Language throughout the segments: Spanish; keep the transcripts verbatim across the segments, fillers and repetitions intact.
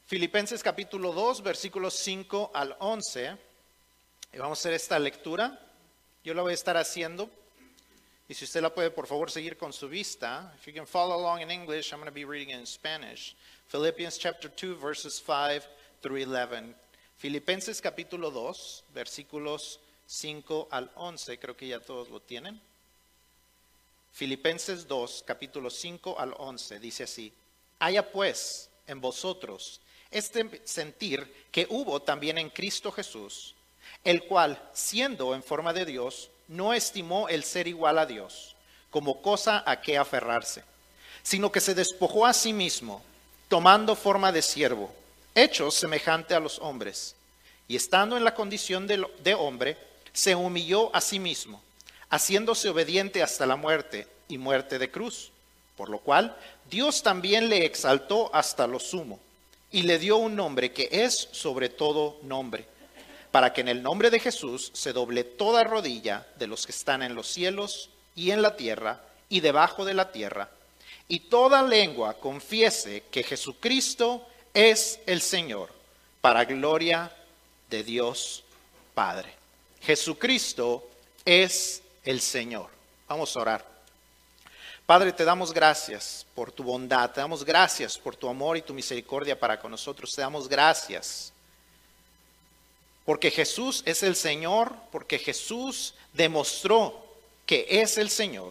Filipenses capítulo dos, versículos cinco al once. Y vamos a hacer esta lectura. Yo la voy a estar haciendo. Y si usted la puede, por favor, seguir con su vista. If you can follow along in English, I'm going to be reading it in Spanish. Philippians chapter two, verses five through eleven. Filipenses capítulo dos, versículos cinco al once. Creo que ya todos lo tienen. Filipenses dos, capítulo cinco al once. Dice así: haya pues en vosotros este sentir que hubo también en Cristo Jesús, el cual, siendo en forma de Dios, no estimó el ser igual a Dios como cosa a que aferrarse, sino que se despojó a sí mismo, tomando forma de siervo, hecho semejante a los hombres, y estando en la condición de, de hombre, se humilló a sí mismo, haciéndose obediente hasta la muerte y muerte de cruz, por lo cual Dios también le exaltó hasta lo sumo, y le dio un nombre que es sobre todo nombre, para que en el nombre de Jesús se doble toda rodilla de los que están en los cielos y en la tierra y debajo de la tierra, y toda lengua confiese que Jesucristo es el Señor, para gloria de Dios Padre. Jesucristo es el Señor. Vamos a orar. Padre, te damos gracias por tu bondad, te damos gracias por tu amor y tu misericordia para con nosotros, te damos gracias porque Jesús es el Señor, porque Jesús demostró que es el Señor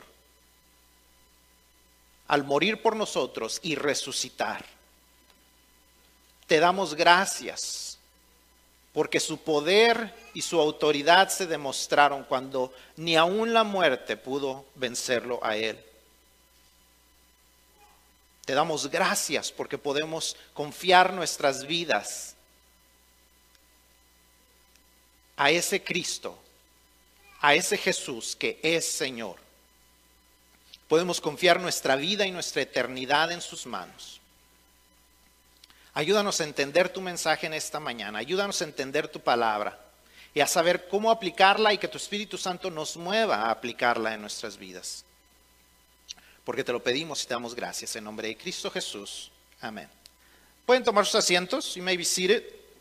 al morir por nosotros y resucitar. Te damos gracias porque su poder y su autoridad se demostraron cuando ni aun la muerte pudo vencerlo a él. Te damos gracias porque podemos confiar nuestras vidas a ese Cristo, a ese Jesús que es Señor. Podemos confiar nuestra vida y nuestra eternidad en sus manos. Ayúdanos a entender tu mensaje en esta mañana. Ayúdanos a entender tu palabra y a saber cómo aplicarla y que tu Espíritu Santo nos mueva a aplicarla en nuestras vidas. Porque te lo pedimos y te damos gracias en nombre de Cristo Jesús. Amén. Pueden tomar sus asientos. You may be seated.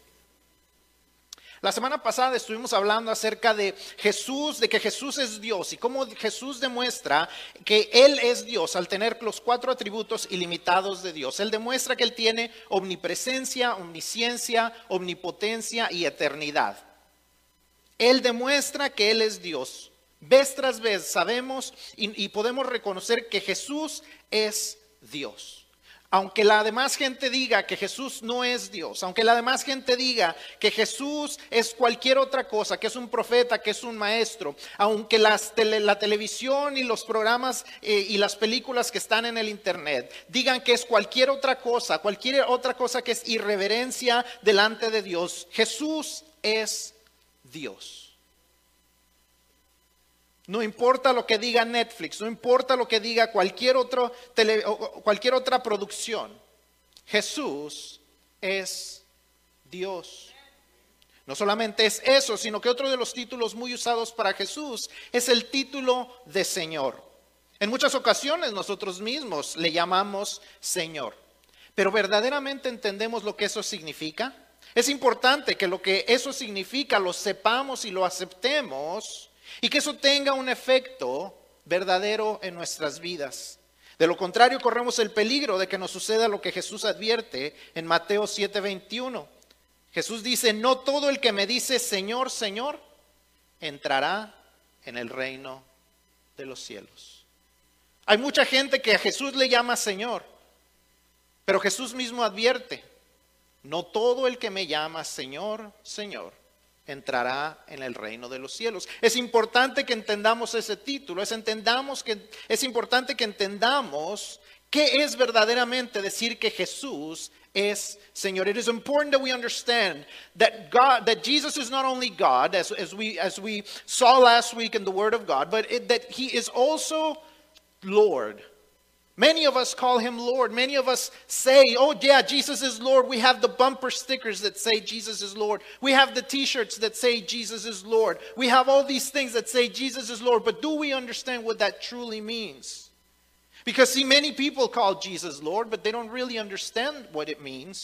La semana pasada estuvimos hablando acerca de Jesús, de que Jesús es Dios y cómo Jesús demuestra que Él es Dios al tener los cuatro atributos ilimitados de Dios. Él demuestra que Él tiene omnipresencia, omnisciencia, omnipotencia y eternidad. Él demuestra que Él es Dios. Vez tras vez sabemos y, y podemos reconocer que Jesús es Dios. Aunque la demás gente diga que Jesús no es Dios, aunque la demás gente diga que Jesús es cualquier otra cosa, que es un profeta, que es un maestro, aunque las tele, la televisión y los programas eh, y las películas que están en el internet digan que es cualquier otra cosa, cualquier otra cosa que es irreverencia delante de Dios, Jesús es Dios. No importa lo que diga Netflix, no importa lo que diga cualquier, otro tele, cualquier otra producción, Jesús es Dios. No solamente es eso, sino que otro de los títulos muy usados para Jesús es el título de Señor. En muchas ocasiones nosotros mismos le llamamos Señor, pero ¿verdaderamente entendemos lo que eso significa? Es importante que lo que eso significa lo sepamos y lo aceptemos, y que eso tenga un efecto verdadero en nuestras vidas. De lo contrario, corremos el peligro de que nos suceda lo que Jesús advierte en Mateo siete veintiuno. Jesús dice: no todo el que me dice Señor, Señor, entrará en el reino de los cielos. Hay mucha gente que a Jesús le llama Señor, pero Jesús mismo advierte: no todo el que me llama Señor, Señor, entrará en el reino de los cielos. Es importante que entendamos ese título, es, entendamos que, es importante que entendamos qué es verdaderamente decir que Jesús es Señor. It is important that we understand that God, that Jesus is not only God, as, as, we, as we saw last week in the Word of God, but it, that He is also Lord. Many of us call Him Lord. Many of us say, oh yeah, Jesus is Lord. We have the bumper stickers that say Jesus is Lord. We have the t-shirts that say Jesus is Lord. We have all these things that say Jesus is Lord. But do we understand what that truly means? Because see, many people call Jesus Lord, but they don't really understand what it means.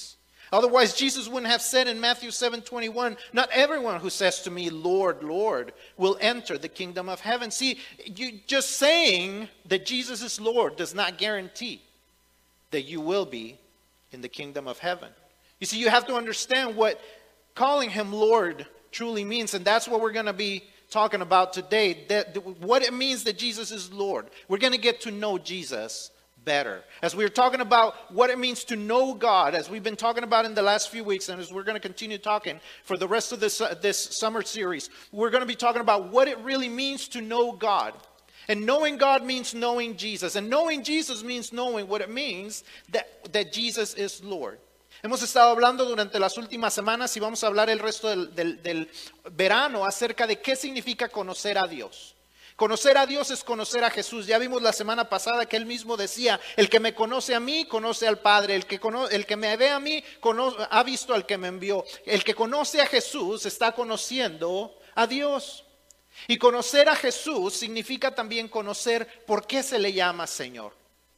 Otherwise, Jesus wouldn't have said in Matthew seven twenty-one, not everyone who says to me, Lord, Lord, will enter the kingdom of heaven. See, you, just saying that Jesus is Lord does not guarantee that you will be in the kingdom of heaven. You see, you have to understand what calling him Lord truly means, and that's what we're going to be talking about today, that, what it means that Jesus is Lord. We're going to get to know Jesus better. As we're talking about what it means to know God, as we've been talking about in the last few weeks, and as we're going to continue talking for the rest of this, uh, this summer series, we're going to be talking about what it really means to know God. And knowing God means knowing Jesus. And knowing Jesus means knowing what it means that, that Jesus is Lord. Hemos estado hablando durante las últimas semanas y vamos a hablar el resto del, del, del verano acerca de qué significa conocer a Dios. Conocer a Dios es conocer a Jesús. Ya vimos la semana pasada que él mismo decía, el que me conoce a mí, conoce al Padre. El que, cono- el que me ve a mí, cono- ha visto al que me envió. El que conoce a Jesús está conociendo a Dios. Y conocer a Jesús significa también conocer por qué se le llama Señor.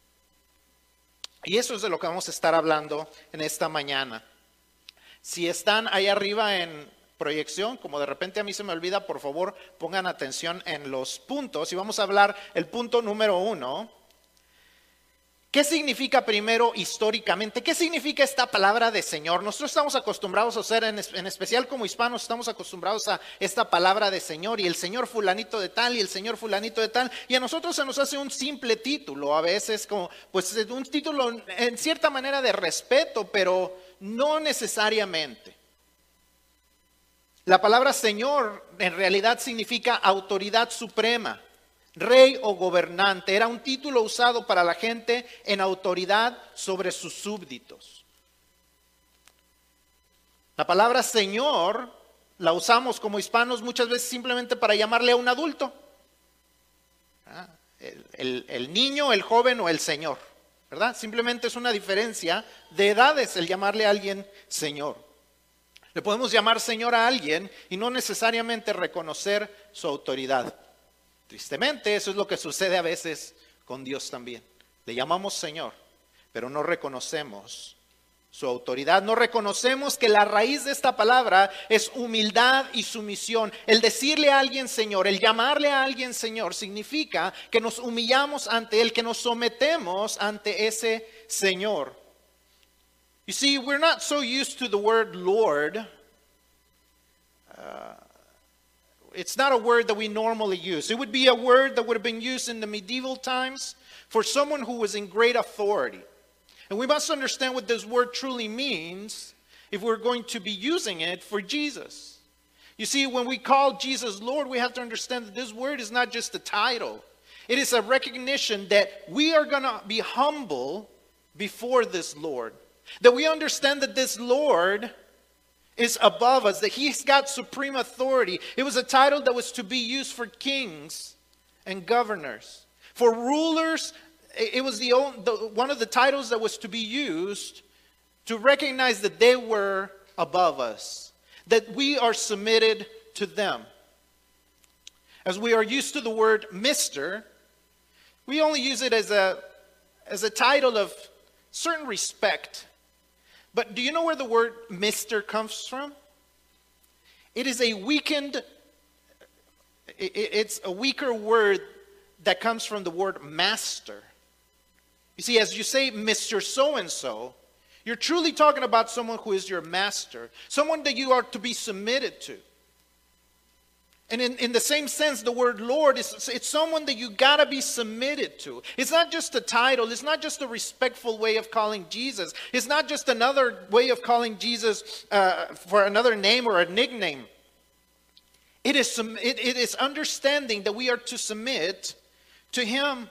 Y eso es de lo que vamos a estar hablando en esta mañana. Si están ahí arriba en proyección, como de repente a mí se me olvida, por favor pongan atención en los puntos. Y vamos a hablar el punto número uno. ¿Qué significa primero históricamente? ¿Qué significa esta palabra de Señor? Nosotros estamos acostumbrados a hacer, en, en especial como hispanos, estamos acostumbrados a esta palabra de Señor y el Señor fulanito de tal y el Señor fulanito de tal. Y a nosotros se nos hace un simple título, a veces como, pues un título en cierta manera de respeto, pero no necesariamente. La palabra Señor en realidad significa autoridad suprema. Rey o gobernante, era un título usado para la gente en autoridad sobre sus súbditos. La palabra Señor la usamos como hispanos muchas veces simplemente para llamarle a un adulto. ¿Ah? El, el, el niño, el joven o el señor, ¿verdad? Simplemente es una diferencia de edades el llamarle a alguien Señor. Le podemos llamar Señor a alguien y no necesariamente reconocer su autoridad. Tristemente, eso es lo que sucede a veces con Dios también. Le llamamos Señor, pero no reconocemos su autoridad. No reconocemos que la raíz de esta palabra es humildad y sumisión. El decirle a alguien Señor, el llamarle a alguien Señor, significa que nos humillamos ante Él, que nos sometemos ante ese Señor. You see, we're not so used to the word Lord. Uh, It's not a word that we normally use. It would be a word that would have been used in the medieval times for someone who was in great authority. And we must understand what this word truly means if we're going to be using it for Jesus. You see, when we call Jesus Lord, we have to understand that this word is not just a title. It is a recognition that we are going to be humble before this Lord. That we understand that this Lord is above us, that he's got supreme authority. It was a title that was to be used for kings and governors. For rulers, it was the, the one of the titles that was to be used to recognize that they were above us, that we are submitted to them. As we are used to the word Mister, we only use it as a, as a title of certain respect. But do you know where the word Mister comes from? It is a weakened, it's a weaker word that comes from the word master. You see, as you say Mister So-and-so, you're truly talking about someone who is your master, someone that you are to be submitted to. And in, in the same sense, the word Lord, is it's someone that you got to be submitted to. It's not just a title. It's not just a respectful way of calling Jesus. It's not just another way of calling Jesus uh, for another name or a nickname. It is, it, it is understanding that we are to submit to Him.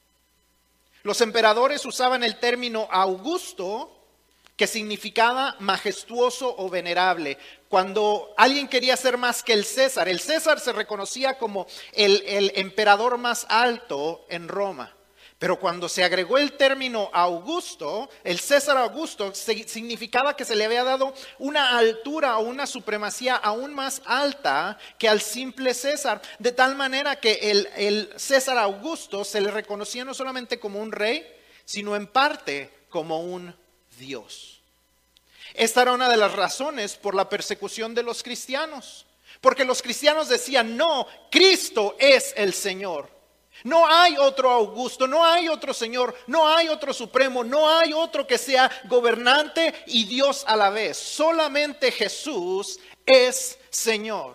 Los emperadores usaban el término Augusto, que significaba majestuoso o venerable. Cuando alguien quería ser más que el César, el César se reconocía como el, el emperador más alto en Roma. Pero cuando se agregó el término Augusto, el César Augusto significaba que se le había dado una altura o una supremacía aún más alta que al simple César. De tal manera que el, el César Augusto se le reconocía no solamente como un rey, sino en parte como un Dios. Esta era una de las razones por la persecución de los cristianos. Porque los cristianos decían, no, Cristo es el Señor. No hay otro Augusto, no hay otro Señor, no hay otro Supremo, no hay otro que sea gobernante y Dios a la vez. Solamente Jesús es Señor.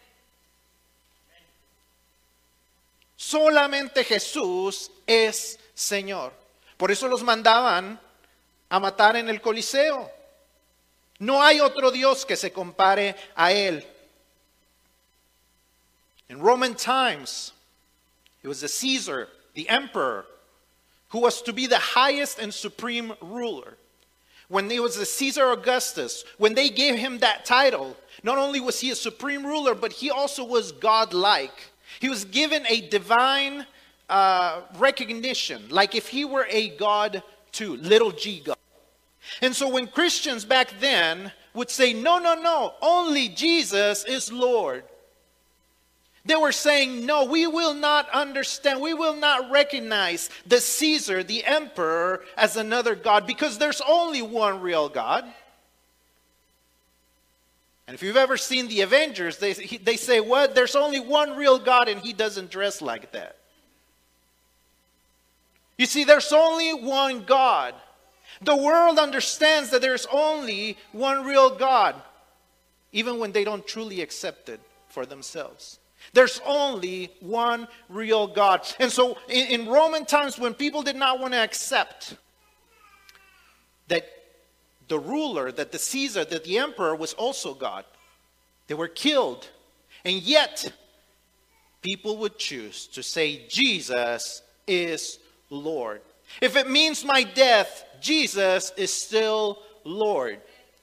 Solamente Jesús es Señor. Por eso los mandaban a matar en el Coliseo. No hay otro Dios que se compare a Él. In Roman times, it was the Caesar, the emperor, who was to be the highest and supreme ruler. When it was the Caesar Augustus, when they gave him that title, not only was he a supreme ruler, but he also was God-like. He was given a divine uh, recognition, like if he were a God too, little g God. And so when Christians back then would say, no, no, no, only Jesus is Lord. They were saying, no, we will not understand, we will not recognize the Caesar, the emperor, as another God, because there's only one real God. And if you've ever seen the Avengers, they, they say, what? There's only one real God and he doesn't dress like that. You see, there's only one God. The world understands that there's only one real God, even when they don't truly accept it for themselves. There's only one real God. And so in, in Roman times, when people did not want to accept that the ruler, that the Caesar, that the emperor was also God, they were killed. And yet, people would choose to say Jesus is Lord. If it means my death, Jesus is still Lord.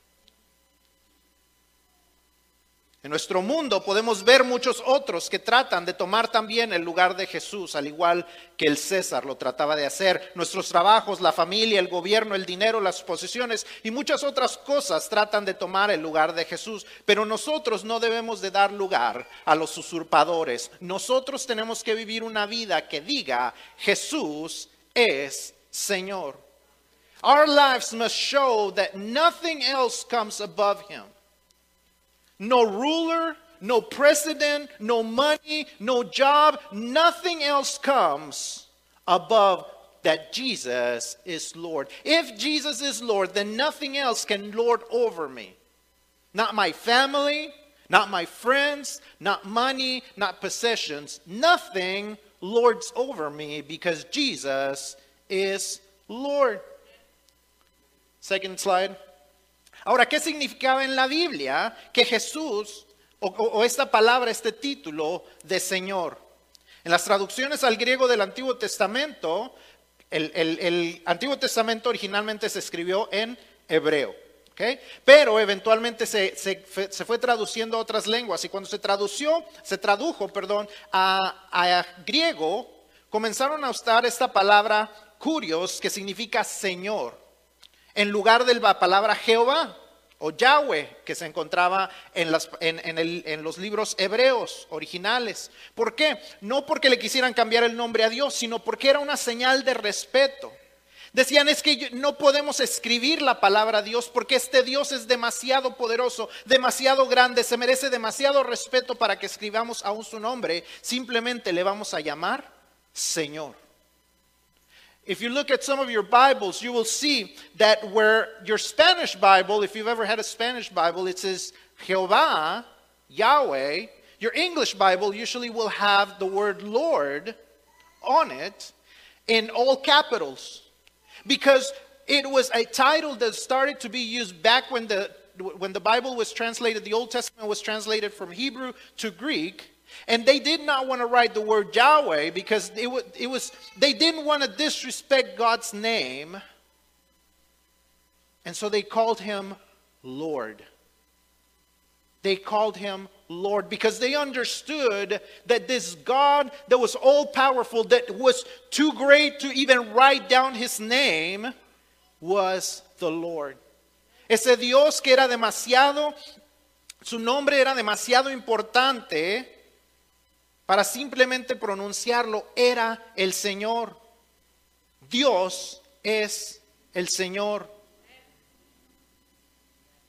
En nuestro mundo podemos ver muchos otros que tratan de tomar también el lugar de Jesús, al igual que el César lo trataba de hacer. Nuestros trabajos, la familia, el gobierno, el dinero, las posesiones y muchas otras cosas tratan de tomar el lugar de Jesús. Pero nosotros no debemos de dar lugar a los usurpadores. Nosotros tenemos que vivir una vida que diga, Jesús es Señor. Our lives must show that nothing else comes above Him. No ruler, no president, no money, no job, nothing else comes above that Jesus is Lord. If Jesus is Lord, then nothing else can lord over me. Not my family, not my friends, not money, not possessions. Nothing lords over me because Jesus is Lord. Second slide. Ahora, ¿qué significaba en la Biblia que Jesús, o, o esta palabra, este título de Señor? En las traducciones al griego del Antiguo Testamento, el, el, el Antiguo Testamento originalmente se escribió en hebreo, ¿okay? Pero eventualmente se, se, se fue traduciendo a otras lenguas, y cuando se tradució, se tradujo, perdón, a, a griego, comenzaron a usar esta palabra kurios, que significa Señor, en lugar de la palabra Jehová o Yahweh que se encontraba en, las, en, en, el, en los libros hebreos originales. ¿Por qué? No porque le quisieran cambiar el nombre a Dios, sino porque era una señal de respeto. Decían, es que no podemos escribir la palabra Dios porque este Dios es demasiado poderoso, demasiado grande, se merece demasiado respeto para que escribamos aún su nombre. Simplemente le vamos a llamar Señor. If you look at some of your Bibles, you will see that where your Spanish Bible, if you've ever had a Spanish Bible, it says Jehová, Yahweh. Your English Bible usually will have the word Lord on it in all capitals. Because it was a title that started to be used back when the, when the Bible was translated, the Old Testament was translated from Hebrew to Greek. And they did not want to write the word Yahweh because it was, it was, they didn't want to disrespect God's name. And so they called him Lord. They called him Lord because they understood that this God that was all-powerful, that was too great to even write down his name, was the Lord. Ese Dios que era demasiado, su nombre era demasiado importante para simplemente pronunciarlo, era el Señor. Dios es el Señor.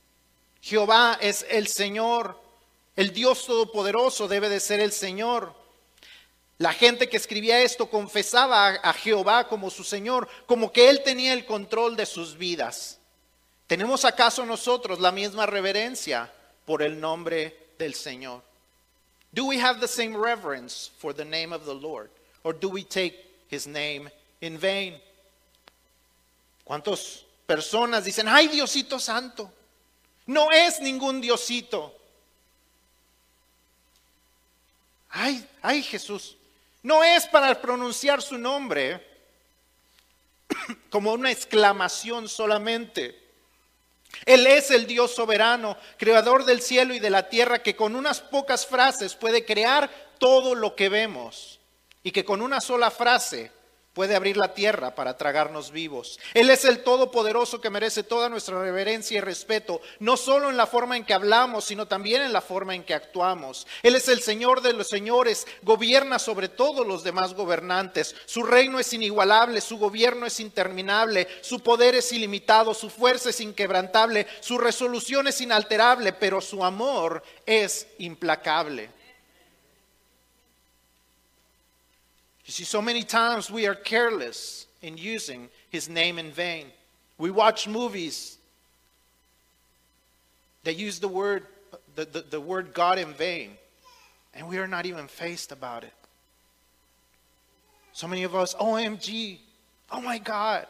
Jehová es el Señor. El Dios Todopoderoso debe de ser el Señor. La gente que escribía esto confesaba a, a Jehová como su Señor, como que Él tenía el control de sus vidas. ¿Tenemos acaso nosotros la misma reverencia por el nombre del Señor? Do we have the same reverence for the name of the Lord? Or do we take His name in vain? ¿Cuántas personas dicen, ay, Diosito Santo? No es ningún Diosito. Ay, ay, Jesús. No es para pronunciar su nombre como una exclamación solamente. Él es el Dios soberano, creador del cielo y de la tierra, que con unas pocas frases puede crear todo lo que vemos y que con una sola frase puede abrir la tierra para tragarnos vivos. Él es el Todopoderoso que merece toda nuestra reverencia y respeto, no solo en la forma en que hablamos, sino también en la forma en que actuamos. Él es el Señor de los señores, gobierna sobre todos los demás gobernantes. Su reino es inigualable, su gobierno es interminable, su poder es ilimitado, su fuerza es inquebrantable, su resolución es inalterable, pero su amor es implacable. You see, so many times we are careless in using His name in vain. We watch movies that use the word, the, the, the word God in vain, and we are not even fazed about it. So many of us, O M G, oh my God.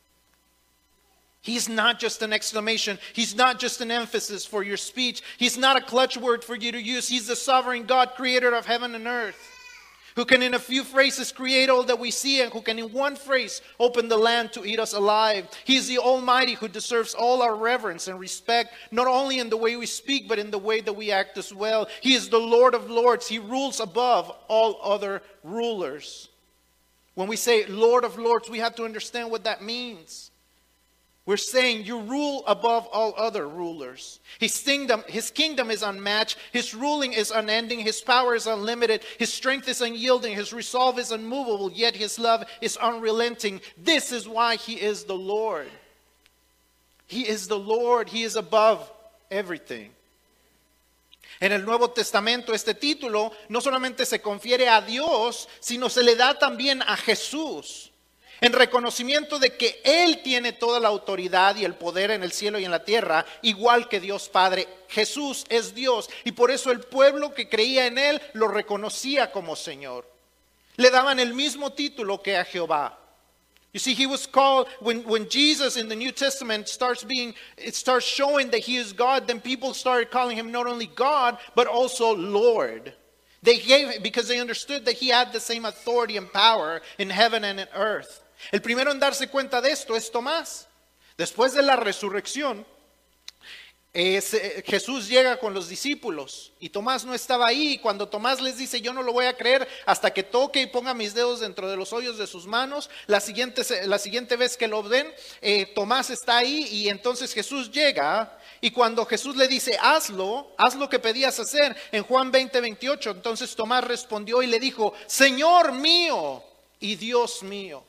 He's not just an exclamation. He's not just an emphasis for your speech. He's not a clutch word for you to use. He's the sovereign God, creator of heaven and earth, who can in a few phrases create all that we see, and who can in one phrase open the land to eat us alive. He is the Almighty who deserves all our reverence and respect, not only in the way we speak, but in the way that we act as well. He is the Lord of Lords. He rules above all other rulers. When we say Lord of Lords, we have to understand what that means. We're saying you rule above all other rulers. His kingdom, his kingdom is unmatched. His ruling is unending. His power is unlimited. His strength is unyielding. His resolve is unmovable. Yet his love is unrelenting. This is why he is the Lord. He is the Lord. He is above everything. En el Nuevo Testamento este título no solamente se confiere a Dios, sino se le da también a Jesús, en reconocimiento de que Él tiene toda la autoridad y el poder en el cielo y en la tierra, igual que Dios Padre. Jesús es Dios, y por eso el pueblo que creía en Él lo reconocía como Señor. Le daban el mismo título que a Jehová. You see, he was called, when, when Jesus in the New Testament starts being, it starts showing that he is God, then people started calling him not only God, but also Lord. They gave, because they understood that he had the same authority and power in heaven and in earth. El primero en darse cuenta de esto es Tomás. Después de la resurrección, eh, se, Jesús llega con los discípulos y Tomás no estaba ahí. Y cuando Tomás les dice, yo no lo voy a creer hasta que toque y ponga mis dedos dentro de los hoyos de sus manos, la siguiente, la siguiente vez que lo ven, eh, Tomás está ahí, y entonces Jesús llega. Y cuando Jesús le dice, hazlo, haz lo que pedías hacer, en Juan veinte, veintiocho, entonces Tomás respondió y le dijo, Señor mío y Dios mío.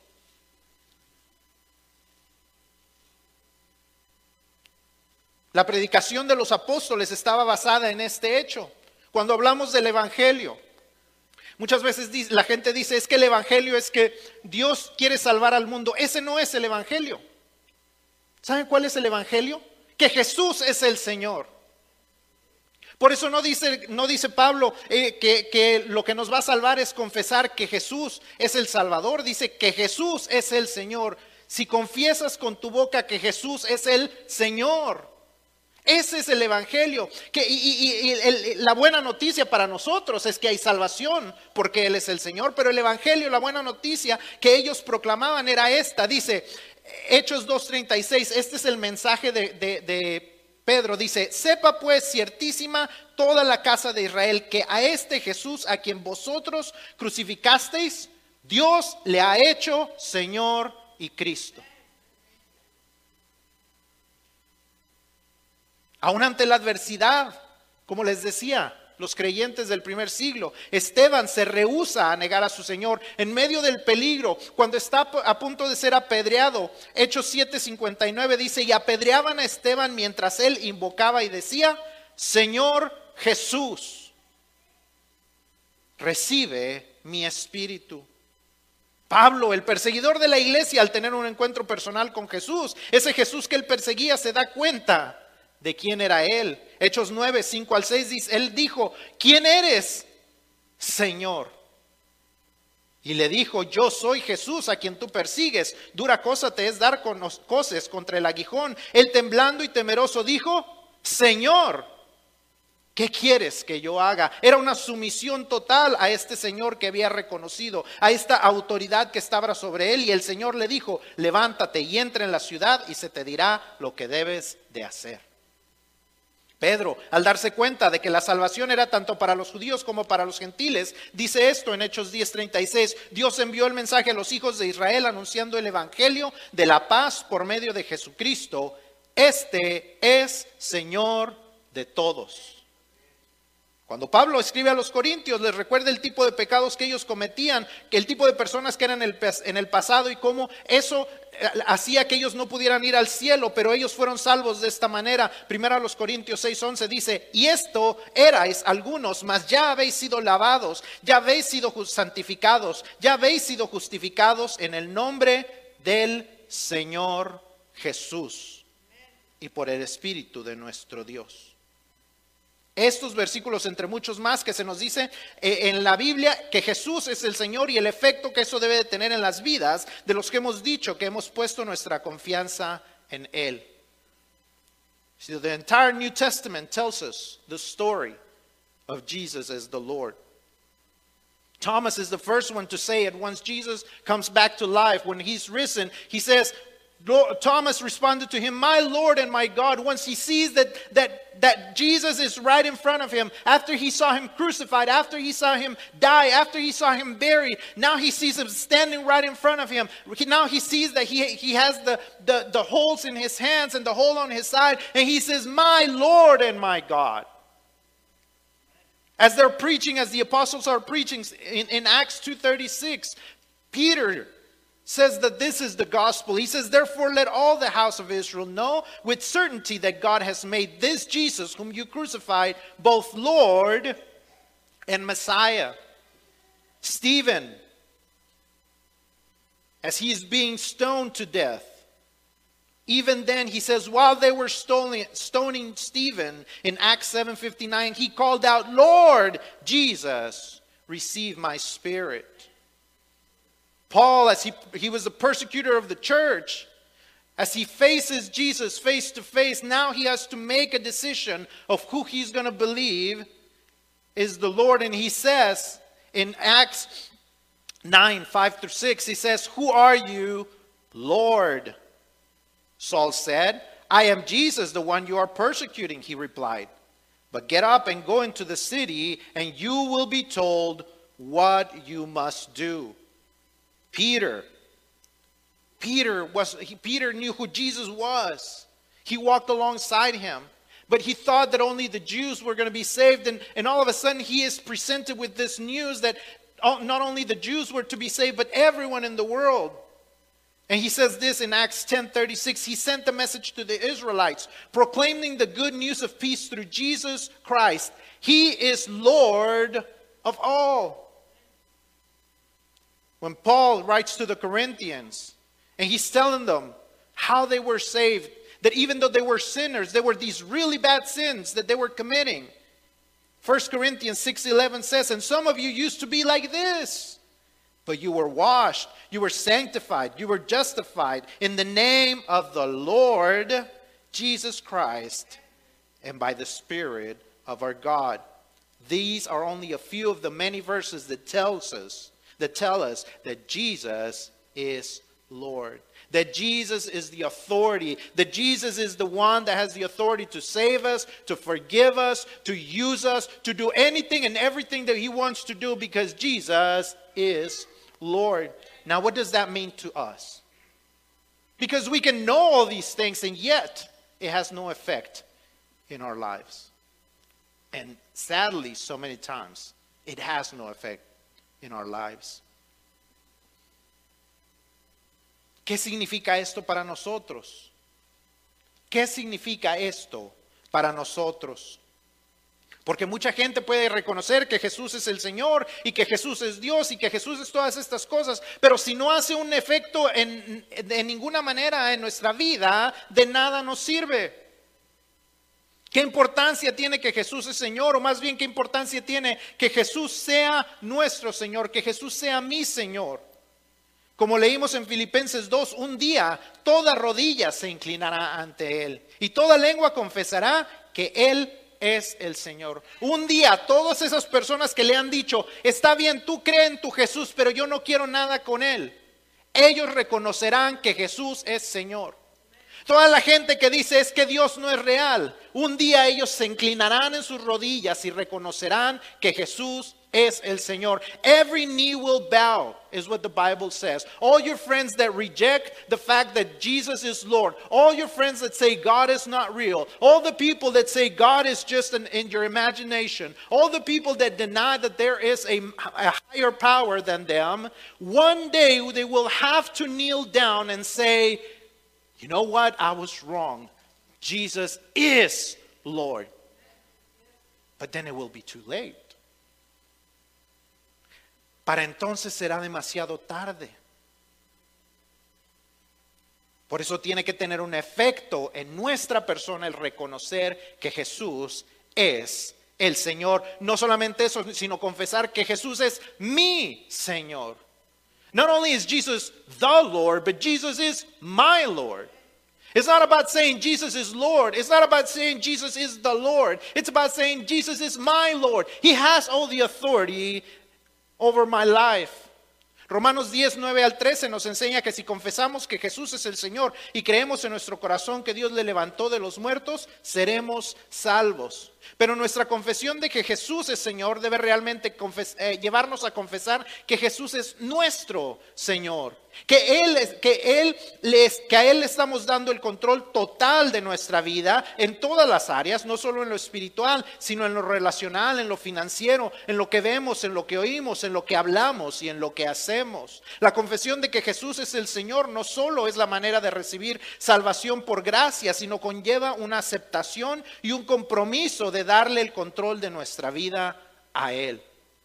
La predicación de los apóstoles estaba basada en este hecho. Cuando hablamos del evangelio, muchas veces la gente dice, es que el evangelio es que Dios quiere salvar al mundo. Ese no es el evangelio. ¿Saben cuál es el evangelio? Que Jesús es el Señor. Por eso no dice, no dice Pablo eh, que, que lo que nos va a salvar es confesar que Jesús es el Salvador. Dice que Jesús es el Señor. Si confiesas con tu boca que Jesús es el Señor, ese es el evangelio. Que, y y, y el, la buena noticia para nosotros es que hay salvación porque Él es el Señor. Pero el evangelio, la buena noticia que ellos proclamaban era esta. Dice Hechos dos treinta y seis, este es el mensaje de, de, de Pedro. Dice, sepa pues ciertísima toda la casa de Israel que a este Jesús a quien vosotros crucificasteis, Dios le ha hecho Señor y Cristo. Aún ante la adversidad, como les decía, los creyentes del primer siglo. Esteban se rehúsa a negar a su Señor en medio del peligro, cuando está a punto de ser apedreado. Hechos siete cincuenta y nueve dice, y apedreaban a Esteban mientras él invocaba y decía, Señor Jesús, recibe mi espíritu. Pablo, el perseguidor de la iglesia, al tener un encuentro personal con Jesús, ese Jesús que él perseguía, se da cuenta de quién era él. Hechos nueve, cinco al seis dice, él dijo, ¿quién eres, Señor? Y le dijo, yo soy Jesús a quien tú persigues. Dura cosa te es dar con los coces contra el aguijón. Él temblando y temeroso dijo, Señor, ¿qué quieres que yo haga? Era una sumisión total a este Señor que había reconocido, a esta autoridad que estaba sobre él. Y el Señor le dijo, levántate y entra en la ciudad y se te dirá lo que debes de hacer. Pedro, al darse cuenta de que la salvación era tanto para los judíos como para los gentiles, dice esto en Hechos diez treinta y seis, Dios envió el mensaje a los hijos de Israel anunciando el evangelio de la paz por medio de Jesucristo. Este es Señor de todos. Cuando Pablo escribe a los corintios, les recuerda el tipo de pecados que ellos cometían, que el tipo de personas que eran en el, en el pasado y cómo eso hacía que ellos no pudieran ir al cielo, pero ellos fueron salvos de esta manera. Primero a los Corintios seis once dice, y esto erais algunos, mas ya habéis sido lavados, ya habéis sido santificados, ya habéis sido justificados en el nombre del Señor Jesús y por el Espíritu de nuestro Dios. Estos versículos, entre muchos más, que se nos dice eh, en la Biblia que Jesús es el Señor y el efecto que eso debe de tener en las vidas de los que hemos dicho que hemos puesto nuestra confianza en Él. So the entire New Testament tells us the story of Jesus as the Lord. Thomas is the first one to say it once Jesus comes back to life. When he's risen, he says, Lord, Thomas responded to him, my Lord and my God. Once he sees that, that, that Jesus is right in front of him, after he saw him crucified, after he saw him die, after he saw him buried, now he sees him standing right in front of him. Now he sees that he, he has the, the, the holes in his hands and the hole on his side, and he says, my Lord and my God. As they're preaching, as the apostles are preaching in, in Acts two thirty-six, Peter says that this is the gospel. He says, therefore let all the house of Israel know with certainty that God has made this Jesus whom you crucified both Lord and Messiah. Stephen, as he is being stoned to death, even then he says, while they were stoning, stoning Stephen in Acts seven fifty-nine, he called out, Lord Jesus, receive my spirit. Paul, as he, he was the persecutor of the church, as he faces Jesus face to face, now he has to make a decision of who he's going to believe is the Lord. And he says in Acts nine, five through six, he says, who are you, Lord? Saul said, I am Jesus, the one you are persecuting, he replied. But get up and go into the city, and you will be told what you must do. Peter, Peter was, he, Peter knew who Jesus was. He walked alongside him, but he thought that only the Jews were going to be saved. And, and all of a sudden he is presented with this news that not only the Jews were to be saved, but everyone in the world. And he says this in Acts ten thirty-six, he sent the message to the Israelites, proclaiming the good news of peace through Jesus Christ. He is Lord of all. When Paul writes to the Corinthians, and he's telling them how they were saved, that even though they were sinners, there were these really bad sins that they were committing. First Corinthians six eleven says, and some of you used to be like this, but you were washed, you were sanctified, you were justified in the name of the Lord Jesus Christ and by the Spirit of our God. These are only a few of the many verses that tells us that tell us that Jesus is Lord. That Jesus is the authority. That Jesus is the one that has the authority to save us, to forgive us, to use us, to do anything and everything that he wants to do, because Jesus is Lord. Now, what does that mean to us? Because we can know all these things and yet it has no effect in our lives. And sadly, so many times, it has no effect in our lives. ¿Qué significa esto para nosotros? ¿Qué significa esto para nosotros? Porque mucha gente puede reconocer que Jesús es el Señor y que Jesús es Dios y que Jesús es todas estas cosas, pero si no hace un efecto en, de ninguna manera en nuestra vida, de nada nos sirve. ¿Qué importancia tiene que Jesús es Señor? O más bien, ¿qué importancia tiene que Jesús sea nuestro Señor, que Jesús sea mi Señor? Como leímos en Filipenses dos, un día toda rodilla se inclinará ante Él y toda lengua confesará que Él es el Señor. Un día todas esas personas que le han dicho, está bien, tú crees en tu Jesús, pero yo no quiero nada con Él, ellos reconocerán que Jesús es Señor. Toda la gente que dice es que Dios no es real, un día ellos se inclinarán en sus rodillas y reconocerán que Jesús es el Señor. Every knee will bow, is what the Bible says. All your friends that reject the fact that Jesus is Lord, all your friends that say God is not real, all the people that say God is just an, in your imagination, all the people that deny that there is a, a higher power than them, one day they will have to kneel down and say, you know what? I was wrong. Jesus is Lord. But then it will be too late. Para entonces será demasiado tarde. Por eso tiene que tener un efecto en nuestra persona el reconocer que Jesús es el Señor. No solamente eso, sino confesar que Jesús es mi Señor. Not only is Jesus the Lord, but Jesus is my Lord. It's not about saying Jesus is Lord. It's not about saying Jesus is the Lord. It's about saying Jesus is my Lord. He has all the authority over my life. Romanos diez, nueve al trece nos enseña que si confesamos que Jesús es el Señor y creemos en nuestro corazón que Dios le levantó de los muertos, seremos salvos. Pero nuestra confesión de que Jesús es Señor debe realmente confes- eh, llevarnos a confesar que Jesús es nuestro Señor. Que, él es, que, él les, que a Él le estamos dando el control total de nuestra vida en todas las áreas, no solo en lo espiritual, sino en lo relacional, en lo financiero, en lo que vemos, en lo que oímos, en lo que hablamos y en lo que hacemos. La confesión de que Jesús es el Señor no solo es la manera de recibir salvación por gracia, sino conlleva una aceptación y un compromiso de darle el control de nuestra vida a Él.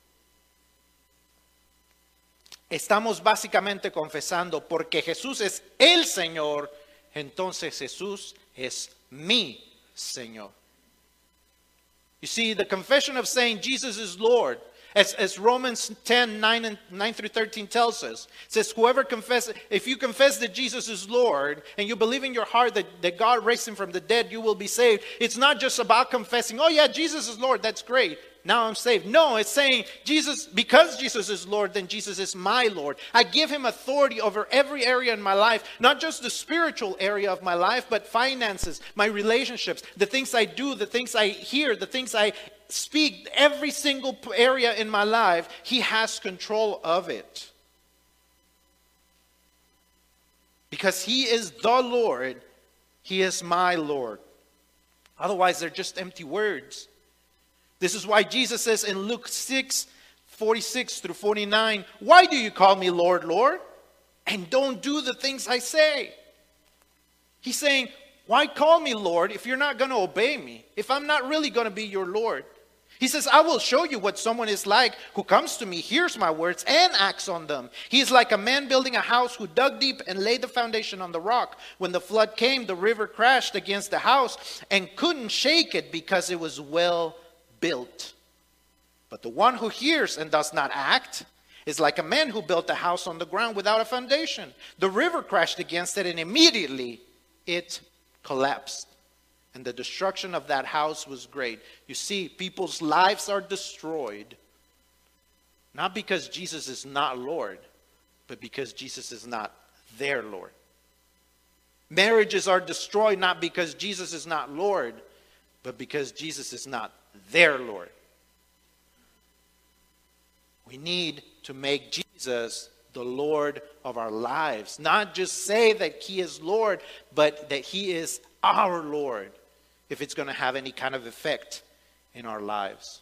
Estamos básicamente confesando porque Jesús es el Señor, entonces Jesús es mi Señor. You see, the confession of saying Jesus is Lord, as, as Romans ten, nine, and nine through thirteen tells us, it says, whoever confesses, if you confess that Jesus is Lord, and you believe in your heart that, that God raised him from the dead, you will be saved. It's not just about confessing, oh yeah, Jesus is Lord, that's great. Now I'm saved. No, it's saying Jesus, because Jesus is Lord, then Jesus is my Lord. I give him authority over every area in my life, not just the spiritual area of my life, but finances, my relationships, the things I do, the things I hear, the things I speak, every single area in my life, he has control of it. Because he is the Lord, he is my Lord. Otherwise, they're just empty words. This is why Jesus says in Luke six, forty-six through forty-nine, why do you call me Lord, Lord, and don't do the things I say? He's saying, why call me Lord if you're not going to obey me, if I'm not really going to be your Lord? He says, I will show you what someone is like who comes to me, hears my words, and acts on them. He is like a man building a house who dug deep and laid the foundation on the rock. When the flood came, the river crashed against the house and couldn't shake it because it was well built. But the one who hears and does not act is like a man who built a house on the ground without a foundation. The river crashed against it and immediately it collapsed. And the destruction of that house was great. You see, people's lives are destroyed, not because Jesus is not Lord, but because Jesus is not their Lord. Marriages are destroyed not because Jesus is not Lord, but because Jesus is not their Lord. We need to make Jesus the Lord of our lives. Not just say that he is Lord, but that he is our Lord, if it's going to have any kind of effect in our lives.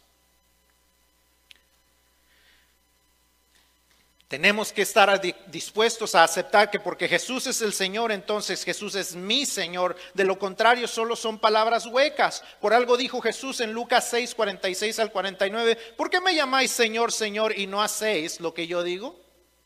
Tenemos que estar dispuestos a aceptar que porque Jesús es el Señor, entonces Jesús es mi Señor. De lo contrario, solo son palabras huecas. Por algo dijo Jesús en Lucas seis, cuarenta y seis al cuarenta y nueve, ¿por qué me llamáis Señor, Señor y no hacéis lo que yo digo?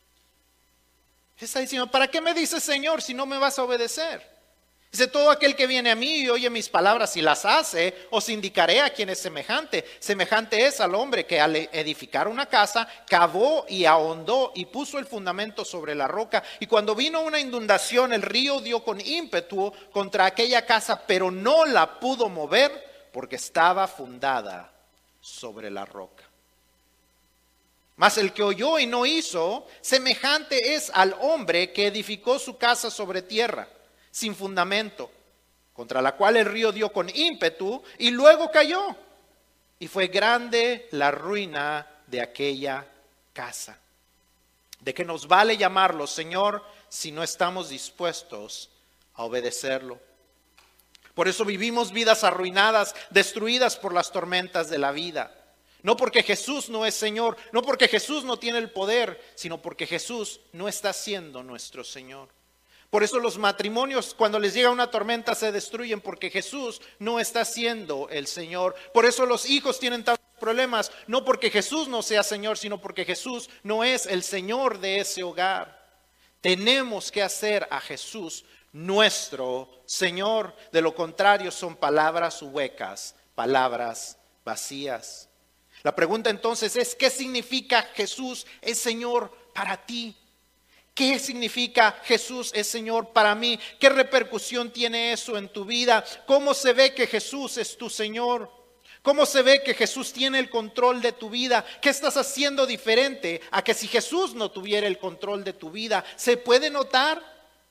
Está diciendo, ¿para qué me dices Señor si no me vas a obedecer? Dice, todo aquel que viene a mí y oye mis palabras y las hace, os indicaré a quién es semejante. Semejante es al hombre que al edificar una casa, cavó y ahondó y puso el fundamento sobre la roca. Y cuando vino una inundación, el río dio con ímpetu contra aquella casa, pero no la pudo mover porque estaba fundada sobre la roca. Mas el que oyó y no hizo, semejante es al hombre que edificó su casa sobre tierra, sin fundamento, contra la cual el río dio con ímpetu y luego cayó. Y fue grande la ruina de aquella casa. ¿De qué nos vale llamarlo Señor si no estamos dispuestos a obedecerlo? Por eso vivimos vidas arruinadas, destruidas por las tormentas de la vida. No porque Jesús no es Señor, no porque Jesús no tiene el poder, sino porque Jesús no está siendo nuestro Señor. Por eso los matrimonios cuando les llega una tormenta se destruyen porque Jesús no está siendo el Señor. Por eso los hijos tienen tantos problemas, no porque Jesús no sea Señor, sino porque Jesús no es el Señor de ese hogar. Tenemos que hacer a Jesús nuestro Señor. De lo contrario son palabras huecas, palabras vacías. La pregunta entonces es, ¿qué significa Jesús es Señor para ti? ¿Qué significa Jesús es Señor para mí? ¿Qué repercusión tiene eso en tu vida? ¿Cómo se ve que Jesús es tu Señor? ¿Cómo se ve que Jesús tiene el control de tu vida? ¿Qué estás haciendo diferente a que si Jesús no tuviera el control de tu vida? ¿Se puede notar?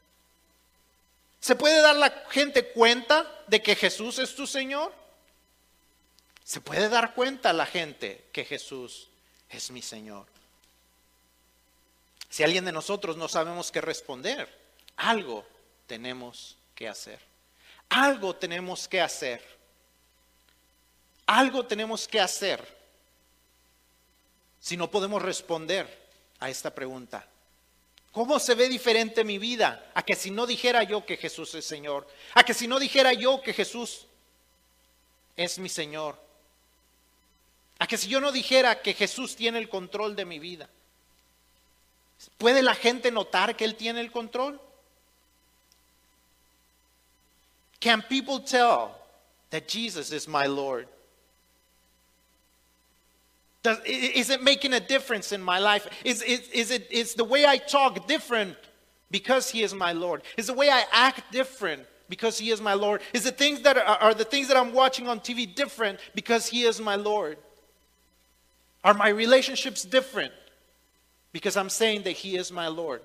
¿Se puede dar la gente cuenta de que Jesús es tu Señor? ¿Se puede dar cuenta la gente que Jesús es mi Señor? Si alguien de nosotros no sabemos qué responder, algo tenemos que hacer. Algo tenemos que hacer. Algo tenemos que hacer. Si no podemos responder a esta pregunta. ¿Cómo se ve diferente mi vida a que si no dijera yo que Jesús es Señor? A que si no dijera yo que Jesús es mi Señor. A que si yo no dijera que Jesús tiene el control de mi vida. ¿Puede la gente notar que Él tiene el control? Can people tell that Jesus is my Lord? Does, is it making a difference in my life? Is, is, is, it, is the way I talk different because He is my Lord? Is the way I act different because He is my Lord? Is the things that are, are the things that I'm watching on T V different because He is my Lord? Are my relationships different because I'm saying that He is my Lord?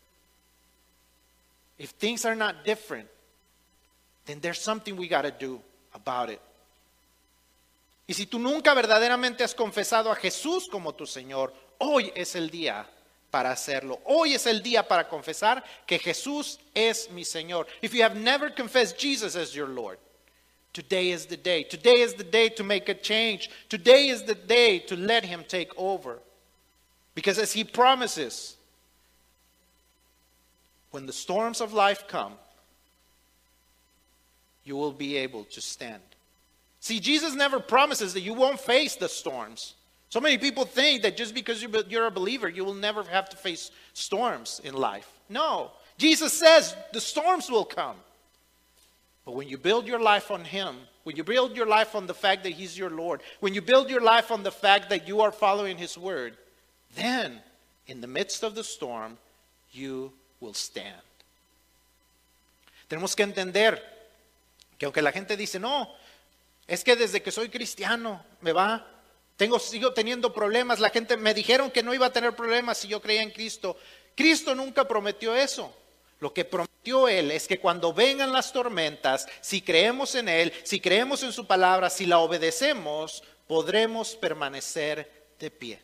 If things are not different, then there's something we got to do about it. Y si tú nunca verdaderamente has confesado a Jesús como tu Señor, hoy es el día para hacerlo. Hoy es el día para confesar que Jesús es mi Señor. If you have never confessed Jesus as your Lord, today is the day. Today is the day to make a change. Today is the day to let Him take over. Because as He promises, when the storms of life come, you will be able to stand. See, Jesus never promises that you won't face the storms. So many people think that just because you're a believer, you will never have to face storms in life. No, Jesus says the storms will come. But when you build your life on Him, when you build your life on the fact that He's your Lord, when you build your life on the fact that you are following His word, then in the midst of the storm, you will stand. Tenemos que entender que aunque la gente dice, no, es que desde que soy cristiano me va, tengo, sigo teniendo problemas, la gente me dijeron que no iba a tener problemas si yo creía en Cristo. Cristo nunca prometió eso. Lo que prometió Él es que cuando vengan las tormentas, si creemos en Él, si creemos en su palabra, si la obedecemos, podremos permanecer de pie.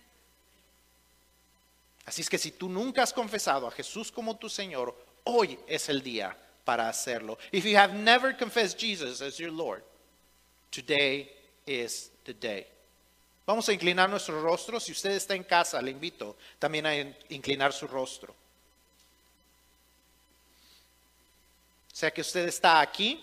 Así es que si tú nunca has confesado a Jesús como tu Señor, hoy es el día para hacerlo. If you have never confessed Jesus as your Lord, today is the day. Vamos a inclinar nuestro rostro. Si usted está en casa, le invito también a inclinar su rostro. Sea que usted está aquí,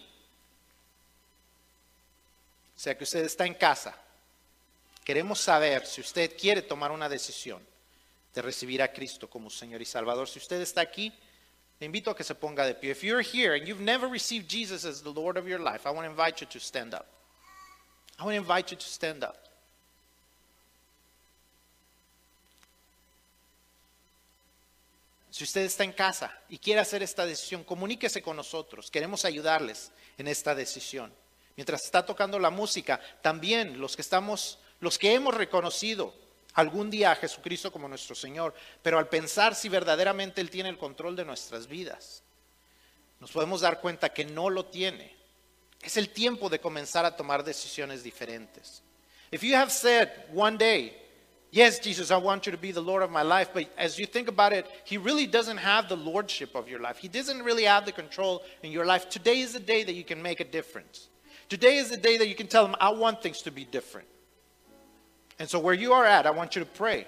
sea que usted está en casa, queremos saber si usted quiere tomar una decisión de recibir a Cristo como Señor y Salvador. Si usted está aquí, le invito a que se ponga de pie. If you're here and you've never received Jesus as the Lord of your life, I want to invite you to stand up. I want to invite you to stand up. Si usted está en casa y quiere hacer esta decisión, comuníquese con nosotros. Queremos ayudarles en esta decisión. Mientras está tocando la música, también los que estamos, los que hemos reconocido algún día a Jesucristo como nuestro Señor, pero al pensar si verdaderamente Él tiene el control de nuestras vidas, nos podemos dar cuenta que no lo tiene. Es el tiempo de comenzar a tomar decisiones diferentes. If you have said one day, yes, Jesus, I want you to be the Lord of my life, but as you think about it, He really doesn't have the lordship of your life. He doesn't really have the control in your life. Today is the day that you can make a difference. Today is the day that you can tell Him, I want things to be different. And so where you are at, I want you to pray.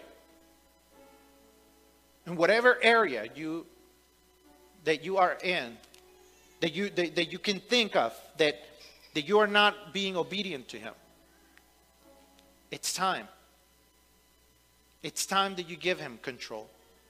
In whatever area you that you are in, that you that, that you can think of that, that you are not being obedient to Him. It's time. It's time that you give Him control,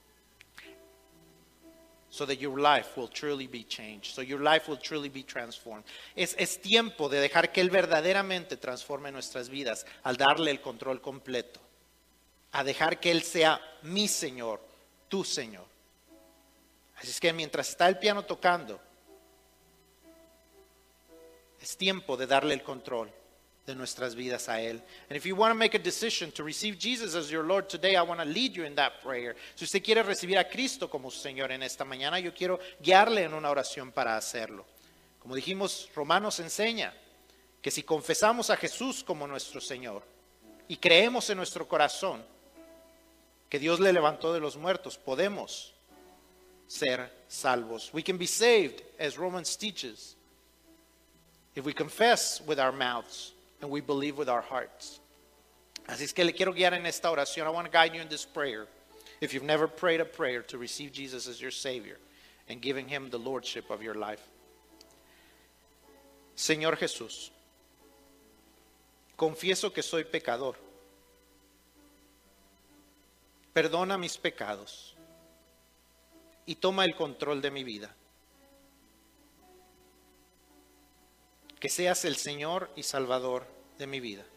so that your life will truly be changed, so your life will truly be transformed. Es, es tiempo de dejar que Él verdaderamente transforme nuestras vidas al darle el control completo, a dejar que Él sea mi Señor, tu Señor. Así es que mientras está el piano tocando, es tiempo de darle el control de nuestras vidas a Él. And if you want to make a decision to receive Jesus as your Lord today, I want to lead you in that prayer. Si usted quiere recibir a Cristo como Señor en esta mañana, yo quiero guiarle en una oración para hacerlo. Como dijimos, Romanos enseña que si confesamos a Jesús como nuestro Señor y creemos en nuestro corazón que Dios le levantó de los muertos, podemos ser salvos. We can be saved, as Romans teaches, if we confess with our mouths and we believe with our hearts. Así es que le quiero guiar en esta oración. I want to guide you in this prayer. If you've never prayed a prayer to receive Jesus as your Savior and giving Him the lordship of your life. Señor Jesús, confieso que soy pecador. Perdona mis pecados y toma el control de mi vida. Que seas el Señor y Salvador de mi vida.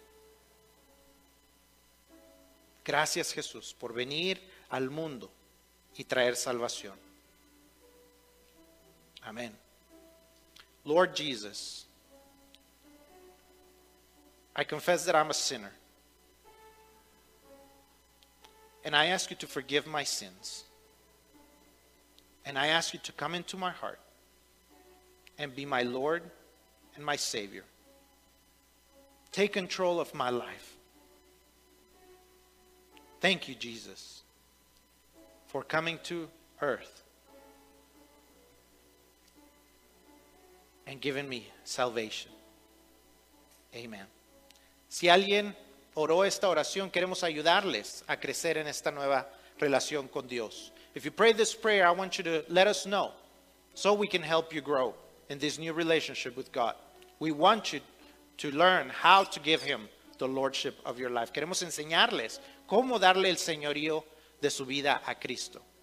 Gracias, Jesús, por venir al mundo y traer salvación. Amén. Lord Jesus, I confess that I'm a sinner. And I ask you to forgive my sins. And I ask you to come into my heart and be my Lord and my Savior. Take control of my life. Thank you, Jesus, for coming to earth and giving me salvation. Amen. Si alguien oró esta oración, queremos ayudarles a crecer en esta nueva relación con Dios. If you pray this prayer, I want you to let us know so we can help you grow in this new relationship with God. We want you to learn how to give Him the lordship of your life. Queremos enseñarles cómo darle el señorío de su vida a Cristo.